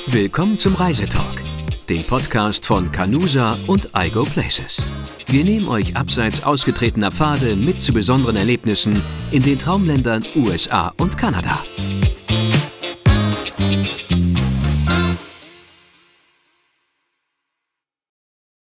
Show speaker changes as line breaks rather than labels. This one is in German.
Willkommen zum Reisetalk, dem Podcast von Canusa und iGo Places. Wir nehmen euch abseits ausgetretener Pfade mit zu besonderen Erlebnissen in den Traumländern USA und Kanada.